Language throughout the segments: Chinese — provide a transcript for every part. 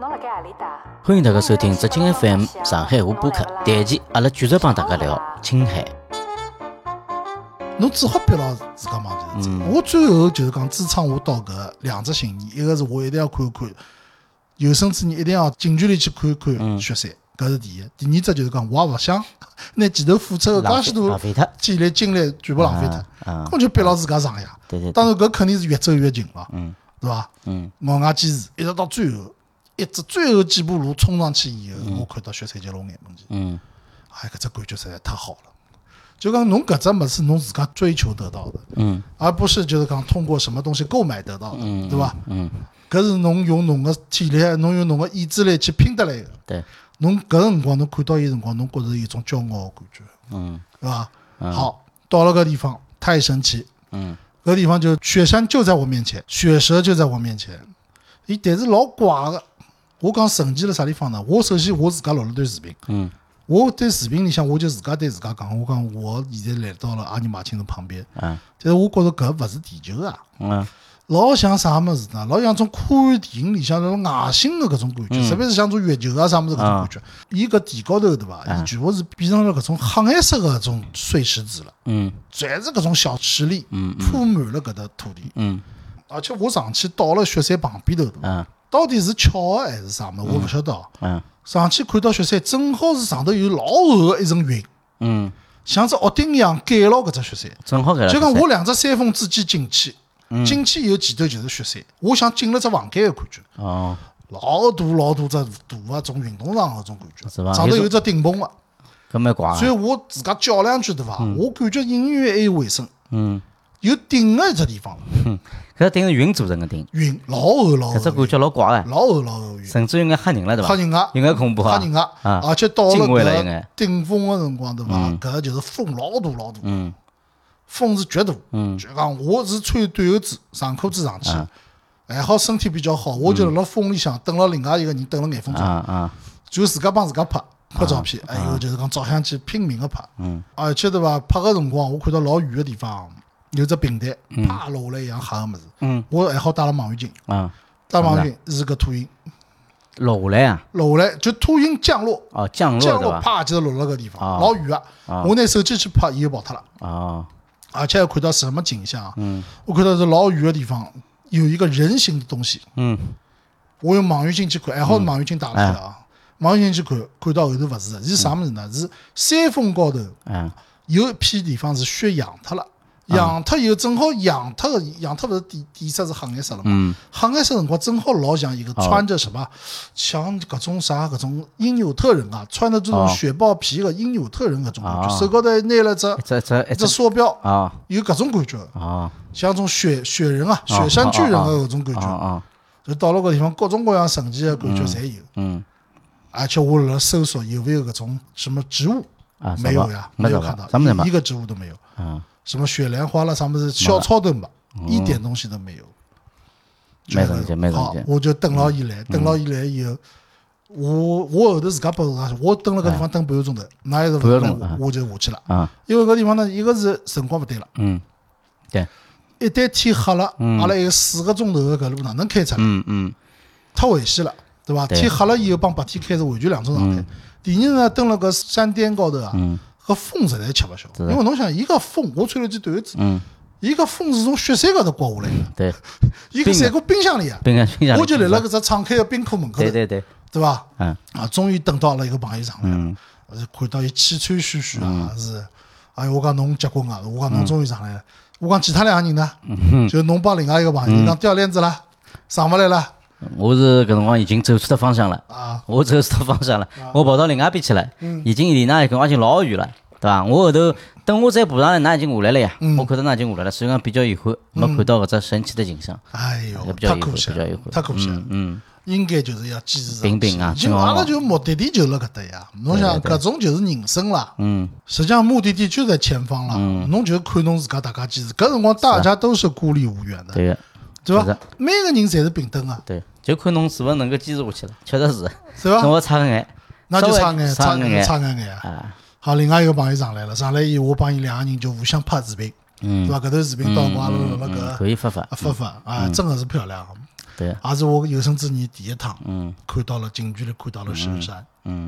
欢迎大家收听浙江 FM 上海话播客，第一期阿拉继续帮大家聊青海。 侬只好逼牢自家忙就是我最后就是讲支撑我到搿两只心意，一个是我一定要看有生之年一定要近距离去看看雪山，搿是第一。第二只就是讲我也勿想拿前头付出的介许多体力精力全部浪费脱，我就逼牢自家上呀。当然搿肯定是越走越近了，对伐？咬牙坚持，一直到最后，最后几步路冲上去以后，我看到雪山就落眼门前。哎，搿只感觉实在太好了。就讲侬搿只物事侬自家追求得到的，而不是就是讲通过什么东西购买得到的，对伐？搿是侬用侬个体力，侬用侬个意志力去拼得来的。 对， 侬搿辰光侬看到伊辰光，侬觉着有一种骄傲的感觉，对伐？好，到了搿地方太神奇，搿地方就雪山就在我面前，雪蛇就在我面前，伊但是老怪个。我讲神奇辣啥地方呢？我首先我自家录了段视频，我对视频里向我就自家对自家讲，我讲我现在来到了阿尼玛星的旁边，但是我觉着搿勿是地球啊，老像啥物事呢？老像种科幻电影里向那种外星的搿种感觉，特别是像种月球啊啥物事搿种感觉。伊搿地高头对伐？伊全部是变成了搿种黑颜色的搿种碎石子了，全是搿种小石粒，铺满了搿搭土地。而且我上去到了雪山旁边头，到底是巧合还是啥物事？我勿晓得。上去看到雪山，正好是上头有老厚的一层云，像只屋顶一样盖牢搿只雪山， 正好盖牢。 就讲我两只山峰之间进去，进去以后前头就是雪山，我像进了只房间的感觉。老大老大只大啊，种运动场搿种感觉，上头有只顶棚啊， 搿蛮怪。 所以我自家叫两句对伐？我感觉隐约还有回声，有顶的一只地方。 搿顶是云做成的顶， 云老厚老厚， 搿只感觉老怪个， 老厚老厚云， 甚至有眼吓人了对伐？ 吓人啊， 有眼恐怖啊， 吓人啊！而且到了搿顶峰的辰光对伐？搿就是风老大老大，风是绝大，就讲我是穿短袖子、长裤子上去，还好身体比较好，我就辣风里向等了另外一个人等了眼分钟，就自家帮自家拍照片，哎呦就是讲照相机拼命的拍，而且对伐？拍个辰光我看到老远的地方。有只平台，啪落下来一样黑个物事，我还好带了望远镜，带望远镜是个秃鹰， 落下来啊， 落下来就秃鹰降落， 降落啪就落了个地方，老远啊，我拿手机去拍，伊就跑脱了，而且看到什么景象啊？我看到是老远的地方有一个人形的东西，我用望远镜去看，还好望远镜打开了啊，望远镜去看到后头勿是，是啥物事呢？是山峰高头有一片地方是雪扬脱了。养脱以后正好养脱勿是底色是黑颜色了嘛？黑颜色辰光正好老像一个穿着什么，像搿种啥搿种因纽特人啊，穿的这种雪豹皮的因纽特人搿种感觉，手高头拿了只手表有搿种感觉，像种雪人啊，雪山巨人的搿种感觉，就到了搿地方各种各样神奇的感觉侪有，而且我辣搜索有没有搿种什么植物，没有呀，没有看到，一个植物都没有。什么雪莲花了，啥么子小草都没，一点东西都没有。 没好，我就等牢伊来，以后，我后头自家跑下去，我等了搿地方等半个钟头，那也是勿来，我就下去了。因为搿地方呢，一个是辰光勿对了， 对， 一旦天黑了，阿拉还有4个钟头的搿路哪能开出来？太危险了，对伐？天黑了以后帮白天开是完全两种状态。第二呢，登了搿山巅高头啊。搿风实在吃勿消，因为侬想，伊个风，我穿了件短袖子，伊个风是从雪山高头刮下来的， 对， 伊个山过冰箱里啊，我就立辣搿只敞开的冰库门口头，对伐？终于等到了一个朋友上来了，看到伊气喘吁吁啊，是，哎我讲侬结棍啊，我讲侬终于上来了，我讲其他两个人呢，就侬帮另外一个朋友，讲掉链子了，上勿来了。 我是搿辰光已经走错方向了，我走错方向了，我跑到另外一边去了，已经离那搿光已经老远了，对伐？我后头等我再爬上来，㑚已经下来了呀，我看到㑚已经下来了，所以讲比较遗憾，没看到搿只神奇的景象。 哎哟，太可惜了，太可惜了。应该就是要坚持平平啊， 就阿拉就目的地就辣搿搭呀。侬想搿种就是人生啦，实际上目的地就在前方啦，侬就看侬自家大家坚持。搿辰光大家都是孤立无援的，对伐？每个人侪是平等啊。 对，就看侬是勿是能够坚持下去了，确实是， 是伐？ 侬差眼， 那就差眼啊。好，另外一个朋友上来了，上来以后我帮伊两个人就互相拍视频，对伐？搿头视频到光了搿可以发啊，真的是漂亮。 对， 也是我有生之年第一趟，看到了近距离看到了神山，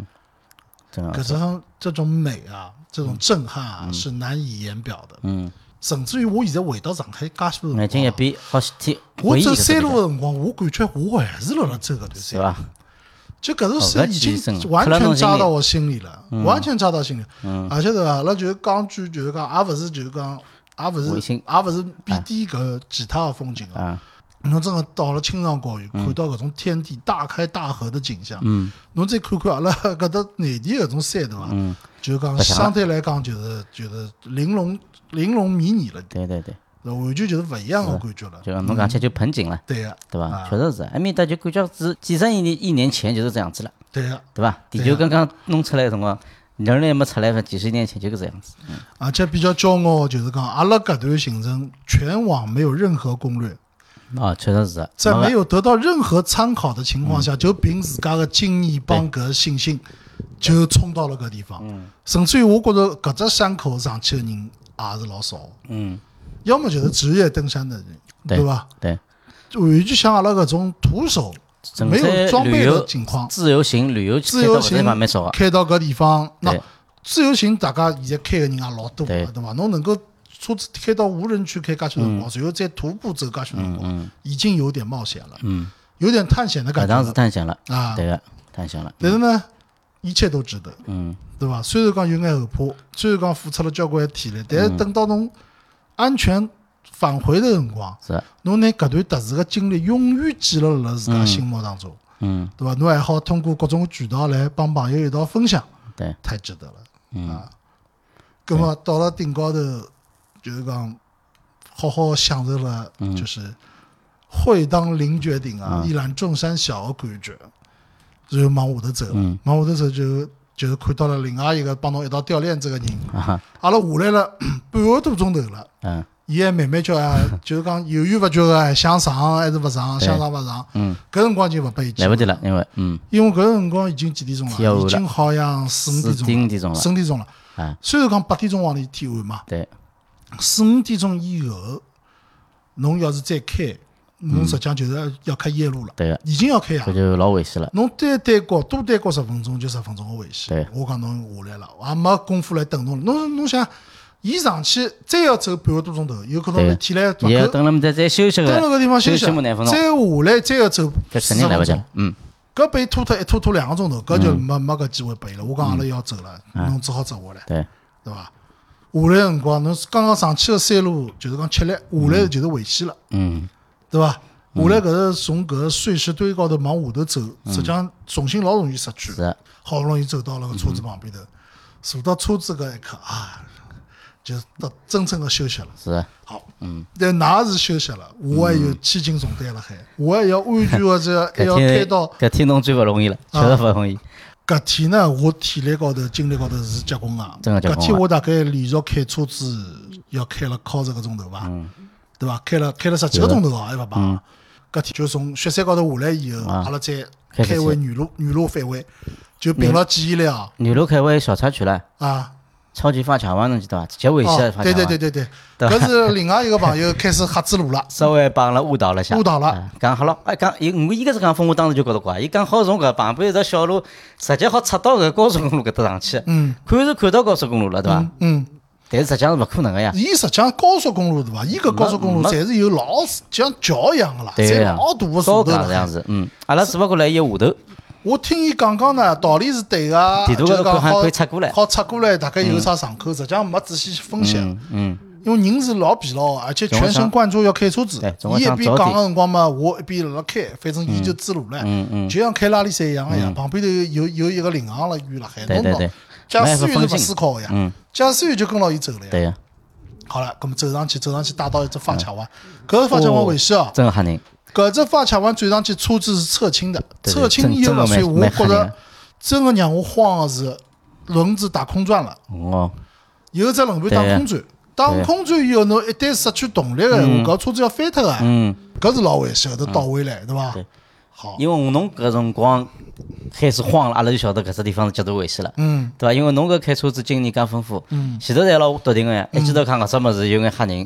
这种美啊，这种震撼啊，是难以言表的，甚至于我现在回到上海介许多眼睛一闭，好天， 我走山路的辰光，我感觉我还是辣走搿段山， 是吧？ 就搿种山已经完全扎到我心里了，完全扎到心里。而且对伐？阿拉就是讲句，就是讲，也勿是就是讲，也勿是贬低搿其他的风景啊。侬真的到了青藏高原，看到搿种天地大开大合的景象，侬再看看阿拉搿搭内地搿种山对伐？就是讲相对来讲就是玲珑迷你了。 对。 完全就是勿一样的感觉了。 就侬讲起就盆景了， 对呀， 对吧？确实是，埃面搭就感觉是几十亿年前就是这样子了， 对呀， 对吧？地球刚刚弄出来的辰光，人类没出来，几十年前就搿个样子。 而且比较骄傲就是讲，阿拉搿段行程全网没有任何攻略。 确实是， 在没有得到任何参考的情况下，就凭自家的经验帮搿信心，就冲到了搿地方。甚至于我觉着搿只山口上去的人也是老少。要么就是职业登山的人，对吧？ 对， 完全像阿拉搿种徒手没有装备的情况， 自由行旅游开到搿地方，那自由行大家现在开的人也老多，对吧？侬能够车子开到无人区开介许多辰光，然后再徒步走介许多辰光，已经有点冒险了，有点探险的感觉。 当时探险了啊， 对个，探险了。 但是呢，一切都值得，对吧？虽然讲有眼后怕，虽然讲付出了交关体力，但是等到侬安全返回的辰光，侬拿搿段特殊的经历永远记录辣自家心目当中，对吧？侬还好通过各种渠道来帮朋友一道分享， 对， 太值得了，啊。葛末到了顶高头，就是讲好好享受了，就是会当凌绝顶啊，一览众山小的感觉，然后往下头走了，往下头走就是看到了另外一个帮侬一道掉链子的人，阿拉下来了半个多钟头了，伊还慢慢叫啊，就是讲犹豫勿决的，想上还是勿上，想上勿上，搿辰光就勿拨伊来不及了， 因为搿辰光已经几点钟了？已经好像4、5点钟了，4、5点钟了。虽然讲8点钟往里天暗嘛， 对 ，4、5点钟以后，侬要是再开，侬实际上就是要开夜路了， 对， 已经要开啊， 搿就老危险了。 侬多耽搁10分钟就10分钟的危险。 对， 我讲侬下来了，也没功夫来等侬了。侬想，伊上去再要走半个多钟头，有可能体力勿够， 也等了再休息个， 等了个地方休息，再下来再要走 10分钟， 搿被拖2个钟头，搿就没搿机会拨伊了。我讲阿拉要走了，侬只好走下来，对伐？下来辰光，侬刚刚上去的山路就是讲吃力，下来就是危险了，对伐？下来搿是从搿碎石堆高头往下头走，实际上重心老容易失去。好不容易走到了个车子旁边头，坐到车子搿一刻啊，就到真正的休息了。 是， 好，但㑚是休息了，我还有千斤重担辣海，我还要安全的这还要开到。 搿天侬最勿容易了，确实勿容易。 搿天呢，我体力高头、精力高头是结棍啊！搿天我大概连续开车子要开了靠10个钟头吧，对伐？开了10几个钟头啊，还勿罢。搿天就从雪山高头下来以后，阿拉再开回原路返回，就凭牢记忆力啊。 原路开回小插曲了啊！ 超级发卡湾侬记得伐？极危险的发卡湾。 对，搿是另外一个朋友开始瞎指路了， 稍微帮了误导了下。讲好了，讲伊搿是讲风，我当时就觉得怪。伊讲好从搿旁边一条小路，直接好插到搿高速公路搿搭上去。看是看到高速公路了，对伐？但是实际上是勿可能个呀。 伊实际上高速公路对伐？伊搿高速公路侪是有老像桥一样个啦，侪老大个树头这样子。阿拉只勿过来伊下头。 我听伊讲呢，道理是对个， 地图高头还可以插过来， 好插过来，大概有啥上口，实际上没仔细去分析。因为人是老疲劳，而且全神贯注要开车子。伊一边讲个辰光嘛，我一边辣辣开，反正伊就指路了，就像开拉力赛一样个呀。旁边头有一个领航了远辣海，侬驾驶员是勿思考个呀，驾驶员就跟牢伊走了呀。 对呀。 好了，搿么走上去打到一只发卡湾，搿个发卡湾危险哦， 真吓人。 搿只发卡湾转上去车子是侧倾的，侧倾以后，所以我觉着真的让我慌的是轮子打空转了。有只轮盘打空转，打空转以后，侬一旦失去动力的闲话，搿车子要翻脱个。搿是老危险，后头倒回来，对伐？好， 因为侬搿辰光开始慌了，阿拉就晓得搿只地方是极度危险了，对伐？因为侬搿开车子经验介丰富，前头侪老笃定个呀，一记头看搿只物事有眼吓人。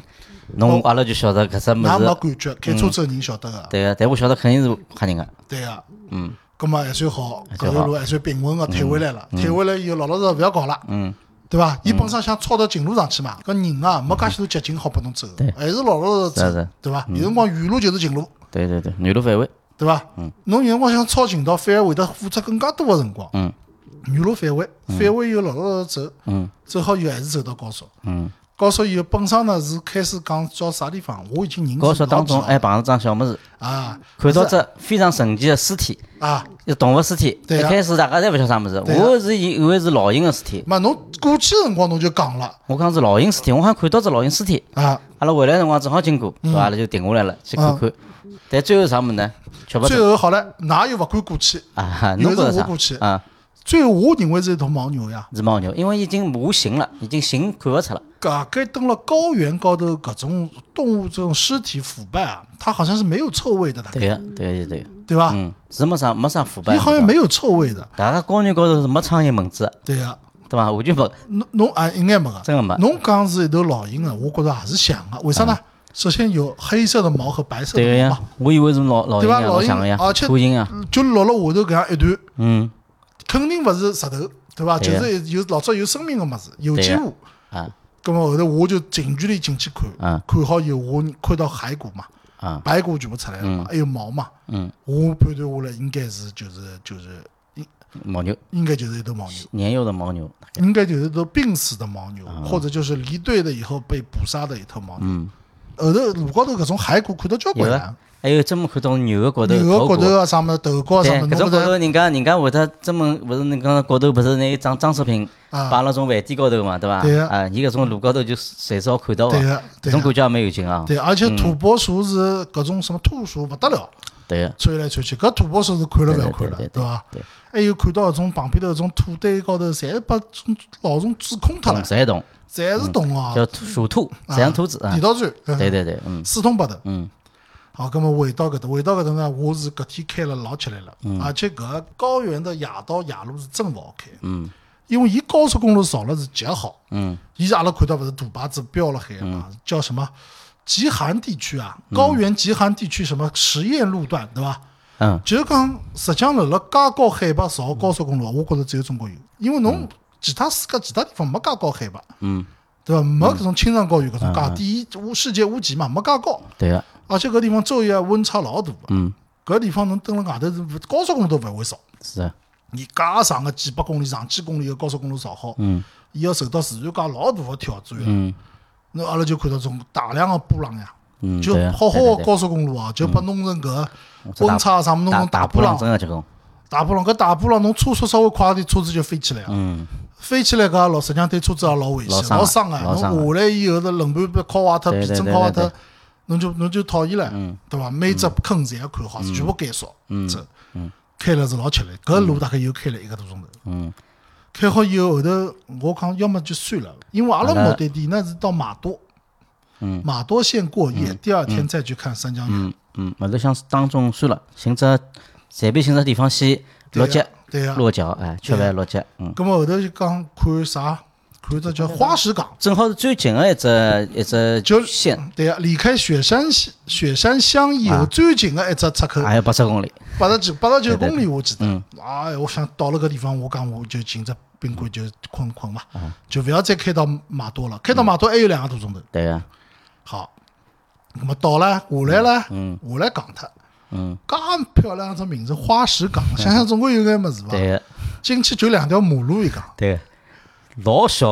侬阿拉就晓得搿只物那没事。 感觉，开车子的人晓得个。 对个，但我晓得肯定是吓人个。 对个。 嗯。 葛末还算好，搿条路还算平稳个退回来了，退回来以后老老实实勿要搞了。对伐？伊本身想抄到近路上去嘛，搿人啊没介许多捷径好拨侬走，还是老老实实走，对伐？有辰光原路就是近路。 对，原路返回。 对伐？侬有辰光想抄近道，反而会得付出更加多个辰光。原路返回，返回以后老老实实走，走好以后还是走到高速。高速以后本身呢是开始讲叫啥地方，我已经认识。 高速当中还碰着桩小物事啊， 看到只非常神奇的尸体啊， 一动物尸体。一开始大家侪勿晓得啥物事，我是以为是老鹰的尸体。 嘛，侬过去辰光侬就讲了， 我讲是老鹰尸体，我好像看到只老鹰尸体啊。 阿拉回来辰光正好经过，对伐？阿拉就停下来了去看看。但最后啥物事呢？吃不最后好了，㑚又勿敢过去啊？ 又是我过去啊？ 最后我认为是一头牦牛呀， 是牦牛，因为已经无形了，已经形看勿出了。 该登了高原高头各种动物这种尸体腐败啊，它好像是没有臭味的，大概。对吧？ 是没啥腐败。 你好像没有臭味的。 大家高原高头是没苍蝇蚊子。 对呀。 对伐？完全没。 侬应该没个。 真的没。 侬讲是一头老鹰啊，我觉着还是像个，为啥呢？首先有黑色的毛和白色的毛。 对呀，我以为是老鹰啊，老像个呀，秃鹰啊， 就落了下头搿样一段。肯定勿是石头，对伐？就是有老早有生命个物事，有机物。咁么后头我就近距离进去看，看好以后我看到骸骨嘛，白骨全部出来了嘛，还有毛嘛。我判断下来应该是就是牦牛， 应该就是一头牦牛， 年幼的牦牛， 应该就是一头病死的牦牛，或者就是离队了以后被捕杀的一头牦牛。后头路高头搿种骸骨看到交关了。 还有专门看到牛个骨头， 牛个骨头啊，啥么头高啥么， 搿种骨头人家会得专门勿是你讲骨头不是那装饰品摆辣种饭店高头嘛，对伐？ 对啊，伊搿种路高头就随时好看到个，搿种感觉也蛮有劲啊。 对，而且土拨鼠是搿种什么兔鼠勿得了， 对， 窜来窜去，搿土拨鼠是看了勿要看了，对伐？还有看到搿种旁边头搿种土堆高头，侪把老鼠蛀空脱了， 侪是洞啊， 叫鼠兔，像兔子啊， 地道战， 对， 四通八达，好，咁么回到搿搭呢，我是搿天开了老吃力了，而且搿高原的夜路是真勿好开，因为伊高速公路造了是极好，伊是阿拉看到勿是大牌子标了海嘛，叫什么极寒地区啊，高原极寒地区什么实验路段，对伐？就是讲实际上辣介高海拔造高速公路，我觉着只有中国有，因为侬其他世界其他地方没介高海拔，对伐？没搿种青藏高原搿种介低世界屋脊嘛，没介高， 对个。 而且搿地方昼夜温差老大个，搿地方侬蹲辣外头是高速公路都勿会少。 是啊， 你介长个几百公里、上千公里个高速公路造好，伊要受到自然界老大个挑战呀。那阿拉就看到种大量个波浪呀，就好好个高速公路啊，就把弄成搿温差啥么弄成大波浪， 真个结棍。 大波浪搿大波浪，侬车速稍微快点，车子就飞起来啊。飞起来搿实际上对车子也老危险，老伤个。侬下来以后的轮盘被敲坏脱，皮震敲坏脱。侬就讨厌了，对伐？每只坑侪要看好，全部减少。这开了是老吃力，搿路大概又开了1个多钟头。开好以后，后头我讲要么就算了，因为阿拉目的地呢是到马多，马多县过夜，第二天再去看三江源。 后头想当中算了，寻只随便寻只地方先落脚，落脚，吃饭落脚。 咁么后头就讲看啥？看只叫花石港， 正好是最近的一只县。 对呀，离开雪山乡以后最近的一只出口， 还有80公里 ，89公里我记得。哎，我想到了个地方，我讲我就进只宾馆就困嘛，就不要再开到马多了，开到马多还有2个多钟头。 对呀。 好，那么到了下来了，下来港脱。介漂亮只名字花石港，想想总归有眼么子吧？ 对。 进去就2条马路一个。 对。老小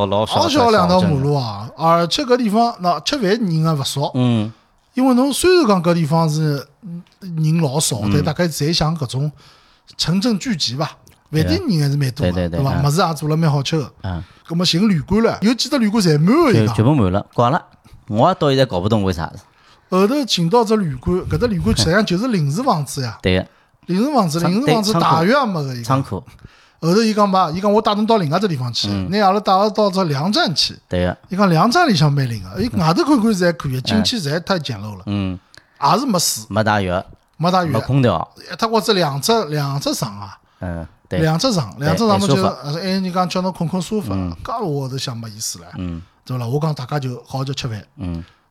2条马路啊！而且搿地方那吃饭人也勿少，因为侬虽然讲搿地方是人老少，但大概侪像搿种城镇聚集吧，饭店人还是蛮多的，对伐？物事也做了蛮好吃的。葛末寻旅馆了，有几只旅馆侪满个一个， 全部满了，挂了。我到现在搞不懂为啥。 后头进到只旅馆，搿只旅馆实际上就是临时房子呀。 对个。 临时房子大院也没个一个。 仓库。 后头伊讲嘛，伊讲我带侬到另外只地方去，拿阿拉带阿到只粮站去。 对个。 伊讲粮站里向蛮灵个，伊外头看看是还可以，进去实在太简陋了。也是没水， 没大浴， 没空调， 他或者两只床啊。 对。 两只床嘛就还人讲叫侬困沙发，搿我都想没意思了。对伐？我讲大家就好好吃饭。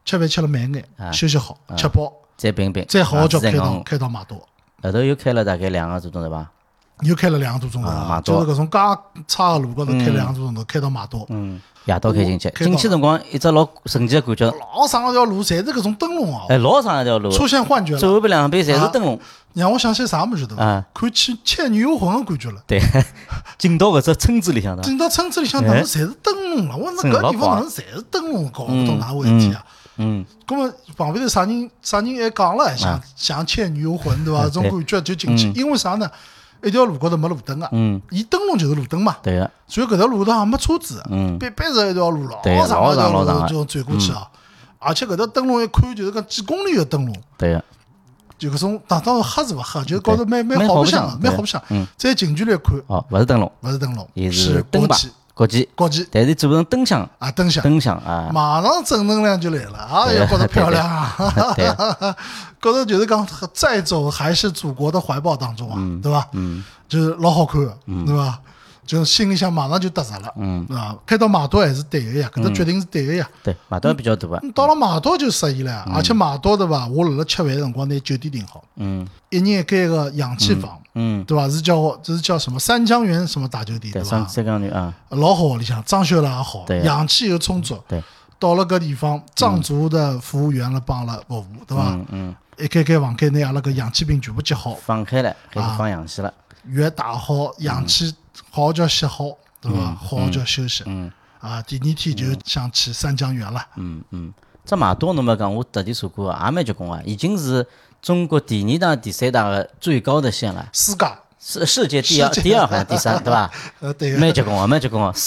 吃饭吃了慢眼，休息好，吃饱再并并， 再好好叫开到马多。 后头又开了大概2个多钟头吧。 又开了2个多钟头就是搿种介差个路高头开2个多钟头，开到马多。 夜到开进去，进去辰光一只老神奇的感觉。 老长一条路，侪是搿种灯笼啊！ 老长一条路， 出现幻觉了。 左边两边侪是灯笼， 让我想起啥物事头？看起《倩女幽魂》的感觉了。 对，进到搿只村子里向的。 进到村子里向，哪能侪是灯笼了？我说搿地方哪能侪是灯笼？搞勿懂哪回事体啊？咁么旁边头啥人还讲了，像《倩女幽魂》对伐？这种感觉就进去，因为啥呢？一条路高头没路灯啊，伊灯笼就是路灯嘛。 对个。 所以搿条路高头也没车子，别是一条路老长一条路就转过去啊。而且搿条灯笼一看就是讲几公里的灯笼。 对个。 就搿种当然黑是勿黑，就是高头蛮好白相的，蛮好白相。再近距离看， 勿是灯笼， 是灯吧？国际，但是做成灯箱啊，灯箱啊， 马上正能量就来了啊！也觉得漂亮啊，觉得就是讲再走还是祖国的怀抱当中啊，对吧？就是老好看，对吧？就心里想马上就踏实了，啊，开到马多还是对的呀，搿个决定是对的呀。 对，马多比较大啊。 到了马多就适意了，而且马多对吧？我辣辣吃饭的辰光拿酒店订好，一人一间个氧气房，对吧？这是叫什么三江源什么大酒店，对吧？ 三江源啊， 老好里向装修了也好，氧气又充足。 对， 到了搿地方，藏族的服务员了帮了服务，对吧？一间房间内阿拉个氧气瓶全部接好， 放开了，开始放氧气了， 药打好，氧气好叫吸好，对吧？好叫休息。第二天就想去三江源了。 这马多侬没讲，我特地查过，也蛮结棍啊，已经是中国第2大、第3大的最高的县了。世界第二好像第3，对吧？ 对， 蛮结棍啊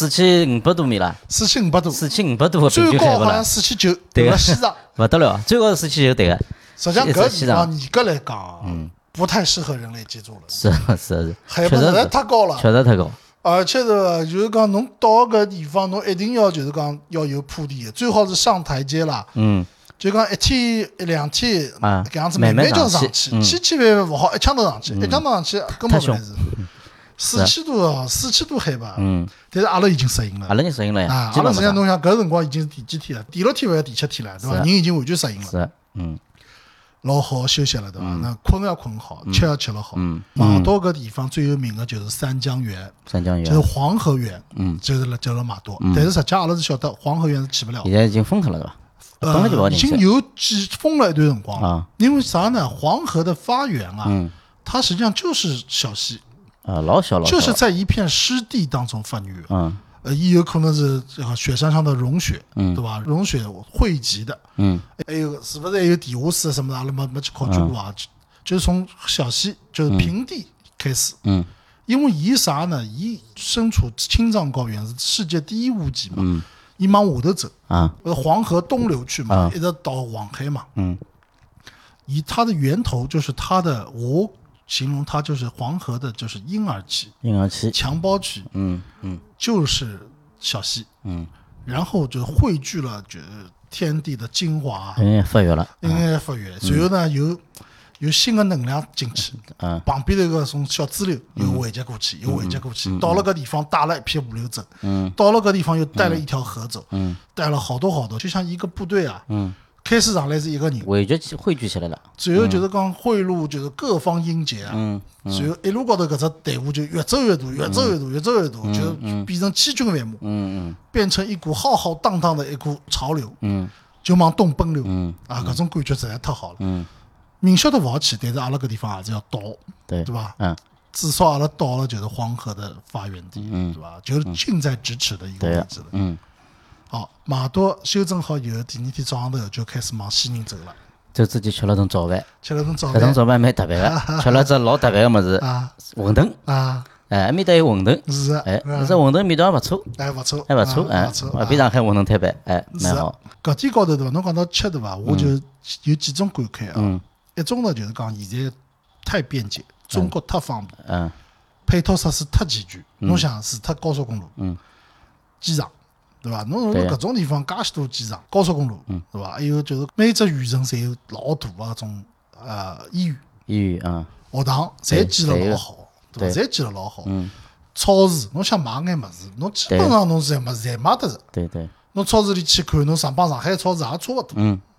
，4500多米了。4500多的平均海拔了。 最高好像4900， 对个， 西藏勿得了，最高是4900，对个。 实际上搿地方严格来讲，不太适合人类居住了。 是， 海拔实在太高了， 确实太高。 而且是就是讲，侬到搿地方，侬一定要就是讲要有铺垫，最好是上台阶啦。就讲1天1-2天搿样子慢慢叫上去，千万勿好一枪头上去，一枪头上去根本勿来事。4000多海拔，但是阿拉已经适应了。 阿拉已经适应了呀。 阿拉实际上侬想搿辰光已经是第几天了？第6天勿要第7天了，对伐？人已经完全适应了。 是， 老好休息了，对伐？那困要困好，吃要吃了好。马多搿地方最有名的就是三江源，就是黄河源，就是辣马多。但是实际阿拉是晓得黄河源是去不了， 现在已经封脱了，对伐？ 已经有封了一段辰光了。因为啥呢？黄河的发源啊，它实际上就是小溪， 老小， 就是在一片湿地当中发育。也有可能是雪山上的融雪，对吧？融雪汇集的，还有是不是还有地下室什么的？阿拉没去考究过啊。就是从小溪，就是平地开始。因为伊啥呢？伊身处青藏高原，是世界第一屋脊嘛。伊往下头走黄河东流去嘛，一直到黄海嘛。以它的源头就是它的，我形容它就是黄河的，就是婴儿期、襁褓期。就是小溪。然后就汇聚了就是天地的精华， 发育了， 发育。随后呢有新的能量进去，旁边头个种小支流又汇集过去，到了个地方带了一批物流走，到了个地方又带了一条河走，带了好多，就像一个部队啊，开始上来是一个人， 汇聚起来了， 最后就是讲汇入就是各方英杰啊，随后一路高头搿只队伍就越走越大，就变成千军万马，变成一股浩浩荡荡的一股潮流，就往东奔流，搿种感觉实在太好了。明晓得勿好去，但是阿拉搿地方还是要到，对吧？至少阿拉到了就是黄河的发源地，对吧？就是近在咫尺的一个位置了。好，马多休整好以后，第2天早上头就开始往西宁走了。 走之前吃了顿早饭， 搿顿早饭蛮特别的，吃了只老特别的物事，馄饨啊，埃面搭有馄饨， 是， 这馄饨味道还勿错， 勿错， 比上海馄饨摊版，蛮好。 搿点高头对伐？侬讲到吃对伐？我就有几种感慨啊。一种呢就是讲现在太便捷，中国太方便，配套设施太齐全。侬想除脱高速公路，机场，对伐？侬搿种地方介许多机场、高速公路，对伐？还有就是每只县城侪有老大个搿种医院学堂，侪建了老好，对伐？侪建了老好。超市，侬想买眼物事，侬基本上侬是物事侪买得着。侬超市里去看，侬帮上海超市也差勿多，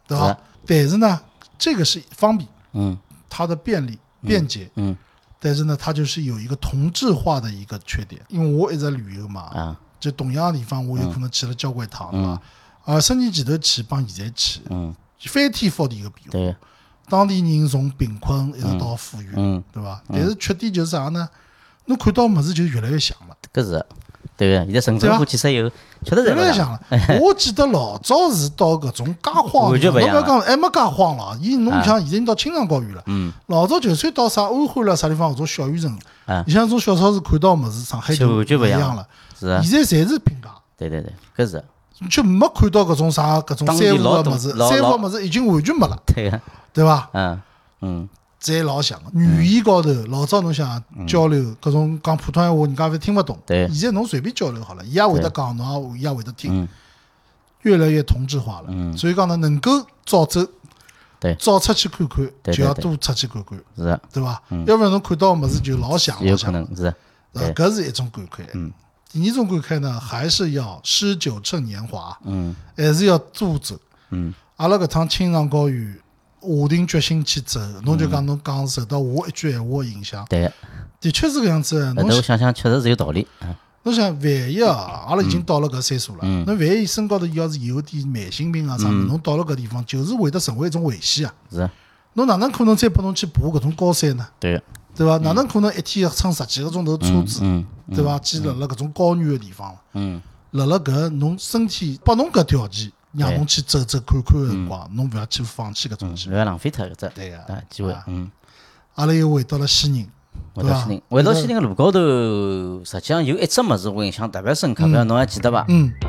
对吧？但是呢，这个是方便，它的便利、便捷，但是呢，它就是有一个同质化的一个缺点。因为我一直旅游嘛，就同样的地方，我有可能去了交关趟，对吧？20年前头去帮现在去，翻天覆地的变化。当地人从贫困一直到富裕，对吧？但是缺点就是啥呢？侬看到物事就越来越像了。 搿是。对个，现在城镇化建设以后，确实越来越像了。我记得老早是到搿种介荒，侬不要讲还没介荒了，侬像现在到青藏高原了。老早就算到啥安徽了啥地方搿种小县城，你像种小超市看到物事，上海就不一样了。现在侪是平价。 对，搿是。 就没看到搿种啥搿种三无的物事，三无物事已经完全没了。对吧？侪老像个，语言高头老早侬想交流，搿种讲普通闲话，人家勿听勿懂。现在侬随便交流好了，伊也会得讲，侬也会得听，越来越同质化了。所以讲呢，能够早走，早出去看看，就要多出去看看， 是， 对伐？要不然侬看到物事就老像， 有可能是。 搿是一种感慨。第二种感慨呢，还是要诗酒趁年华，还是要多走。阿拉搿趟青藏高原。下定决心去走，侬就讲侬讲受到我一句闲话的影响， 对， 的确是搿样子。 侬想想，确实是有道理。 侬想，万一阿拉已经到了搿岁数了，侬万一身高头要是有点慢性病啊啥，侬到了搿地方，就是会得成为一种危险啊。 是。 侬哪能可能再拨侬去爬搿种高山呢？对伐？哪能可能一天要乘10几个钟头车子，对伐？去辣搿种高原的地方，辣搿侬身体拨侬搿条件。让侬去走走看看的辰光，侬勿要去放弃搿种机会， 勿要浪费脱搿只机会。 阿拉又回到了西宁， 回到西宁个路高头，实际上有一只物事我印象特别深刻，勿晓得侬还记得伐？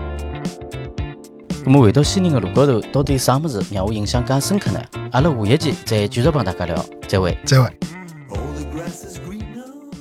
那么回到西宁个路高头，到底啥物事让我印象介深刻呢？阿拉下一期再继续帮大家聊，再会。